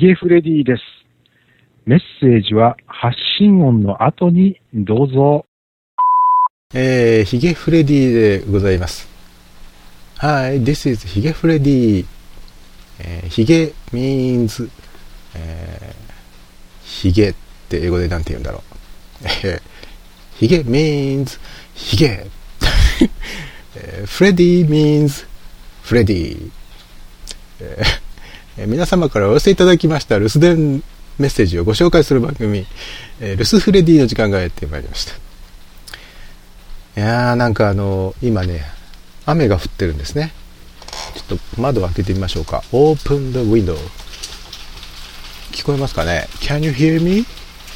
ゲフレディです。メッセージは発信音の後にどうぞ。 ヒゲフレディでございます。Hi, this is ヒゲフレディ。ヒゲ means、ヒゲって英語でなんて言うんだろう。ヒゲ means ヒゲ。フレディ means フレディ。皆様からお寄せいただきました留守電メッセージをご紹介する番組、留守フレディの時間がやってまいりました。いやー、なんか今ね、雨が降ってるんですね。ちょっと窓を開けてみましょうか。Open the window。聞こえますかね？ Can you hear me?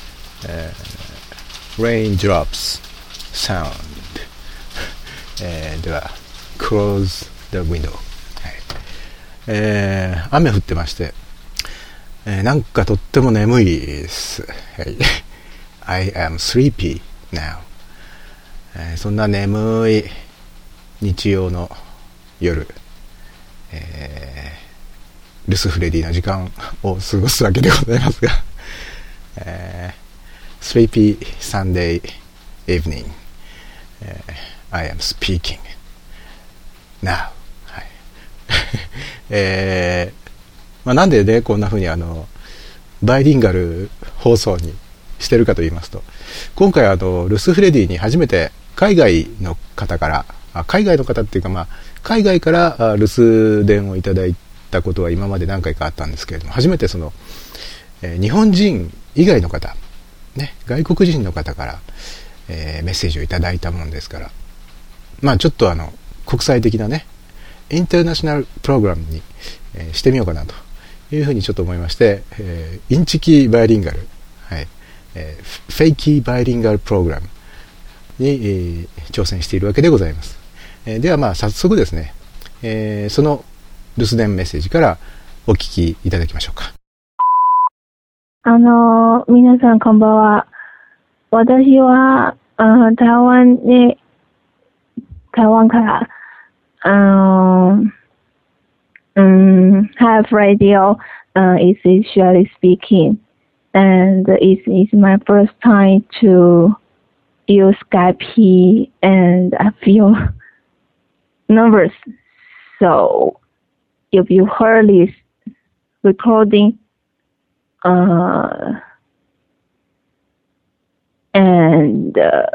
Raindrops sound。では、Close the window。雨降ってまして、なんかとっても眠いです。I am sleepy now。そんな眠い日曜の夜、留守フレディの時間を過ごすわけでございますが、Sleepy Sunday evening、I am speaking now。なんでねこんな風にバイリンガル放送にしてるかと言いますと、今回留守フレディに初めて海外の方から海外の方っていうか、海外から留守電をいただいたことは今まで何回かあったんですけれども、初めて日本人以外の方、ね、外国人の方から、メッセージをいただいたもんですから、ちょっと国際的なねインターナショナルプログラムに、してみようかなというふうにちょっと思いまして、インチキバイリンガル、フェイキーバイリンガルプログラムに、挑戦しているわけでございます。では早速ですね、その留守電メッセージからお聞きいただきましょうか。 皆さんこんばんは。私は台湾からHave radio is usually speaking, and it is my first time to use Skype, and I feel nervous. So if you heard this recording, and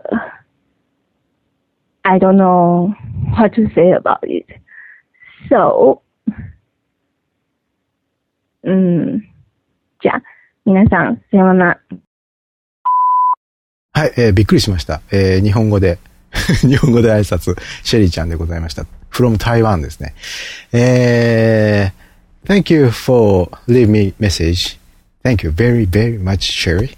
I don't know what to say about it. So, じゃあ、皆さん、さようなら。 はい、びっくりしました。日本語で挨拶、シェリーちゃんでございました。from Taiwan ですね。Thank you for leaving me message. Thank you very, very much, Sherry.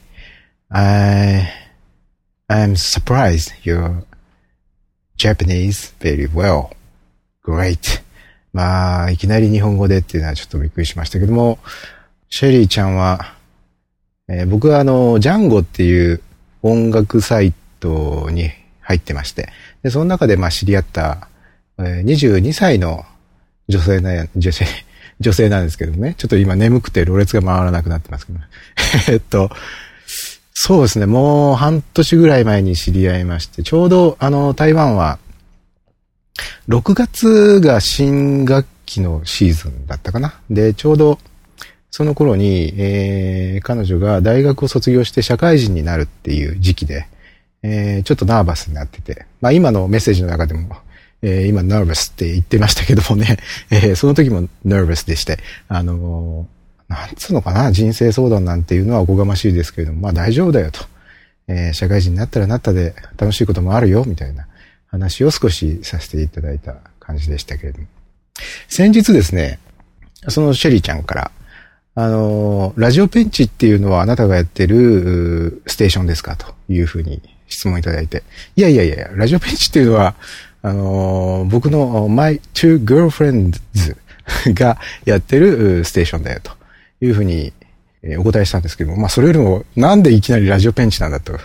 I'm surprised you're Japanese very well. Great. いきなり日本語でっていうのはちょっとびっくりしましたけども、シェリーちゃんは、僕はジャンゴっていう音楽サイトに入ってまして、でその中で知り合った、22歳の女性なんですけどね、ちょっと今眠くてろれつが回らなくなってますけど、そうですね、もう半年ぐらい前に知り合いまして、ちょうど台湾は6月が新学期のシーズンだったかな。で、ちょうどその頃に、彼女が大学を卒業して社会人になるっていう時期で、ちょっとナーバスになってて、今のメッセージの中でも、今ナーバスって言ってましたけどもね、その時もナーバスでして、なんつうのかな、人生相談なんていうのはおこがましいですけれども、大丈夫だよと。社会人になったらなったで楽しいこともあるよ、みたいな話を少しさせていただいた感じでしたけれども。先日ですね、そのシェリーちゃんから、ラジオペンチっていうのはあなたがやってるステーションですかというふうに質問いただいて、いや、ラジオペンチっていうのは、僕の My Two Girlfriends がやってるステーションだよというふうにお答えしたんですけども、それよりもなんでいきなりラジオペンチなんだと、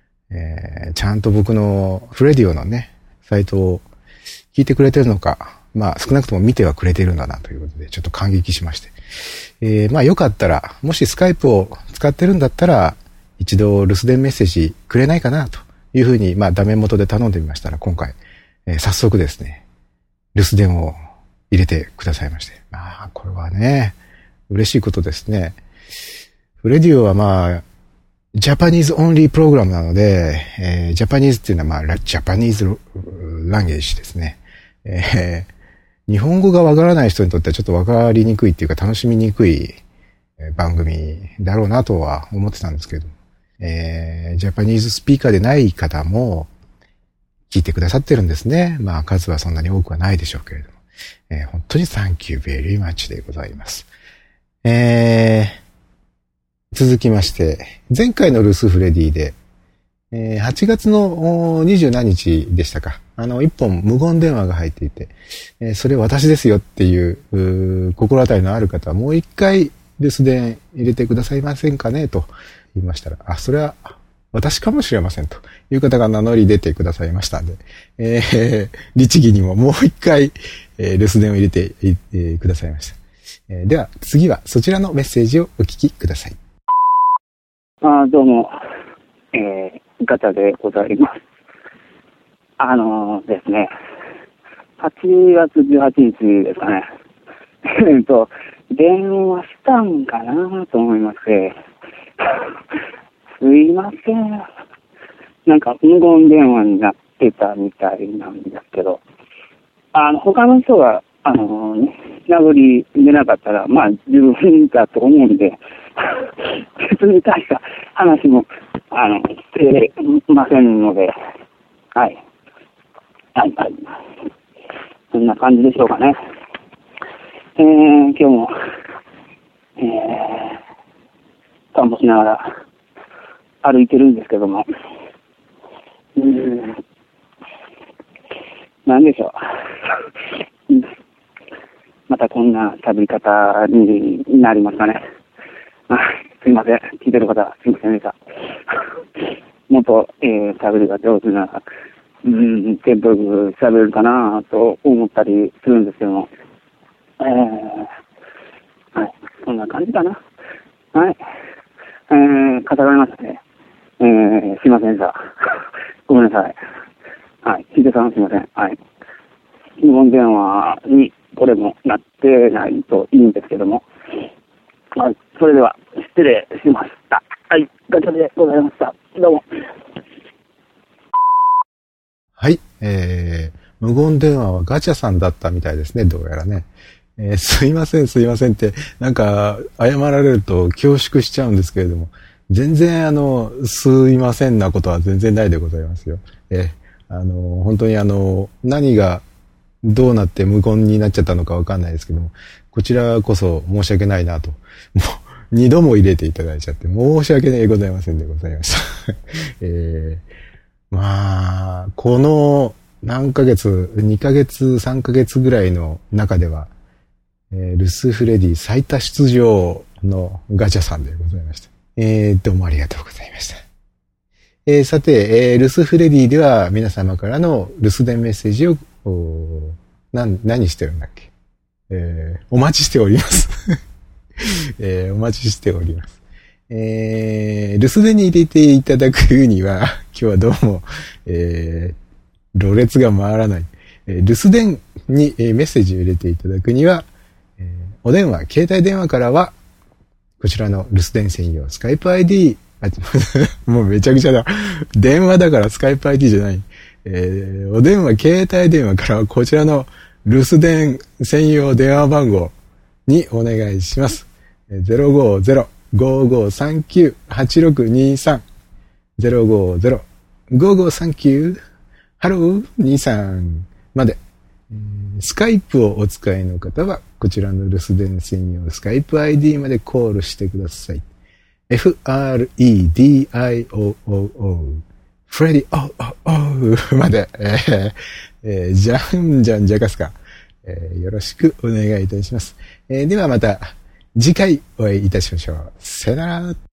ちゃんと僕のフレディオのね、サイトを聞いてくれてるのか、 まあ少なくとも見てはくれてるんだなということで、ちょっと感激しまして。まあよかったら、もしスカイプを使ってるんだったら、一度留守電メッセージくれないかなというふうに、まあダメ元で頼んでみましたら、今回、早速ですね、留守電を入れてくださいまして。まあこれはね、嬉しいことですね。フレディオはまあ、ジャパニーズオンリープログラムなので、ジャパニーズっていうのはまあ、ジャパニーズランゲージですね。日本語がわからない人にとってはちょっとわかりにくいっていうか楽しみにくい番組だろうなとは思ってたんですけど、ジャパニーズスピーカーでない方も聞いてくださってるんですね。まあ数はそんなに多くはないでしょうけれども、本当に Thank you very much でございます。続きまして、前回の留守フレディで、8月の20何日でしたか。一本無言電話が入っていて、それ私ですよっていう心当たりのある方はもう一回留守電入れてくださいませんかねと言いましたら、あ、それは私かもしれませんという方が名乗り出てくださいましたんで、律儀にももう一回、留守電を入れてくださいました。では次はそちらのメッセージをお聞きください。 どうも、ガチャでございます。ですね、8月18日ですかね。電話したんかなと思いまして、すいません。なんか無言電話になってたみたいなんですけど、他の人が、名残出なかったら、まあ、十分だと思うんで、別に大した話も、してませんので、はい。はい、はい。そんな感じでしょうかね。今日も、散歩しながら歩いてるんですけども、なんでしょう。またこんな喋り方になりますかね。すいません。聞いてる方、すいませんでした。もっと、喋りが上手な、テンポよく喋るかなと思ったりするんですけども。はい。そんな感じかな。はい。語られましたね。すいませんでした。ごめんなさい。はい。ひでさんすいません。はい。無言電話にこれもなってないといいんですけども。はい。それでは、失礼しました。はい。ガチャでございました。どうも。 はい。無言電話はガチャさんだったみたいですね。どうやらね。すいませんって、なんか、謝られると恐縮しちゃうんですけれども、全然すいませんなことは全然ないでございますよ。本当に何がどうなって無言になっちゃったのかわかんないですけども、こちらこそ申し訳ないなと。もう、2度も入れていただいちゃって、申し訳ございませんでございました。まあ、この何ヶ月、2ヶ月、3ヶ月ぐらいの中では、留守フレディ最多出場のガチャさんでございました。どうもありがとうございました。さて、留守フレディでは皆様からの留守電メッセージを、何してるんだっけ、お待ちしております。お待ちしております。留守電に入れていただくには、今日はどうも、ろれつが回らない。留守電にメッセージを入れていただくには、お電話、携帯電話からは、こちらの留守電専用スカイプ ID、もうめちゃくちゃだ。電話だからスカイプ ID じゃない。お電話、携帯電話からはこちらの留守電専用電話番号にお願いします。050-5539-8623 050-5539 ハロー23まで。スカイプをお使いの方は、こちらの留守電専用スカイプ ID までコールしてください。FREDIOOO フレディまで、じゃんじゃんじゃかすか、よろしくお願いいたします。ではまた次回お会いいたしましょう。さよなら。